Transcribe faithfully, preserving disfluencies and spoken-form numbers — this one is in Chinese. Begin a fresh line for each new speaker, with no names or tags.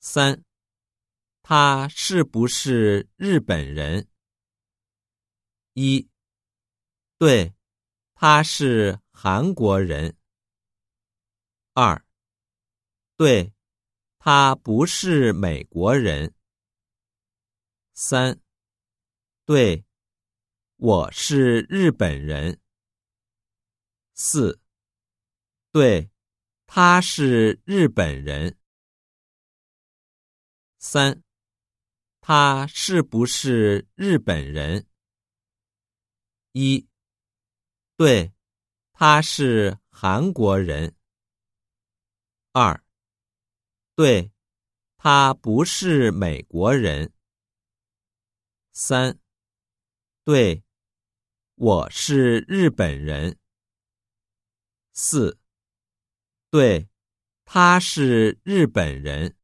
三，他是不是日本人？一，对，他是韩国人。二，对，他不是美国人。三，对，我是日本人。四，对，他是日本人。三，他是不是日本人？一，对，他是韩国人。二，对，他不是美国人。三，对，我是日本人。四，对，他是日本人。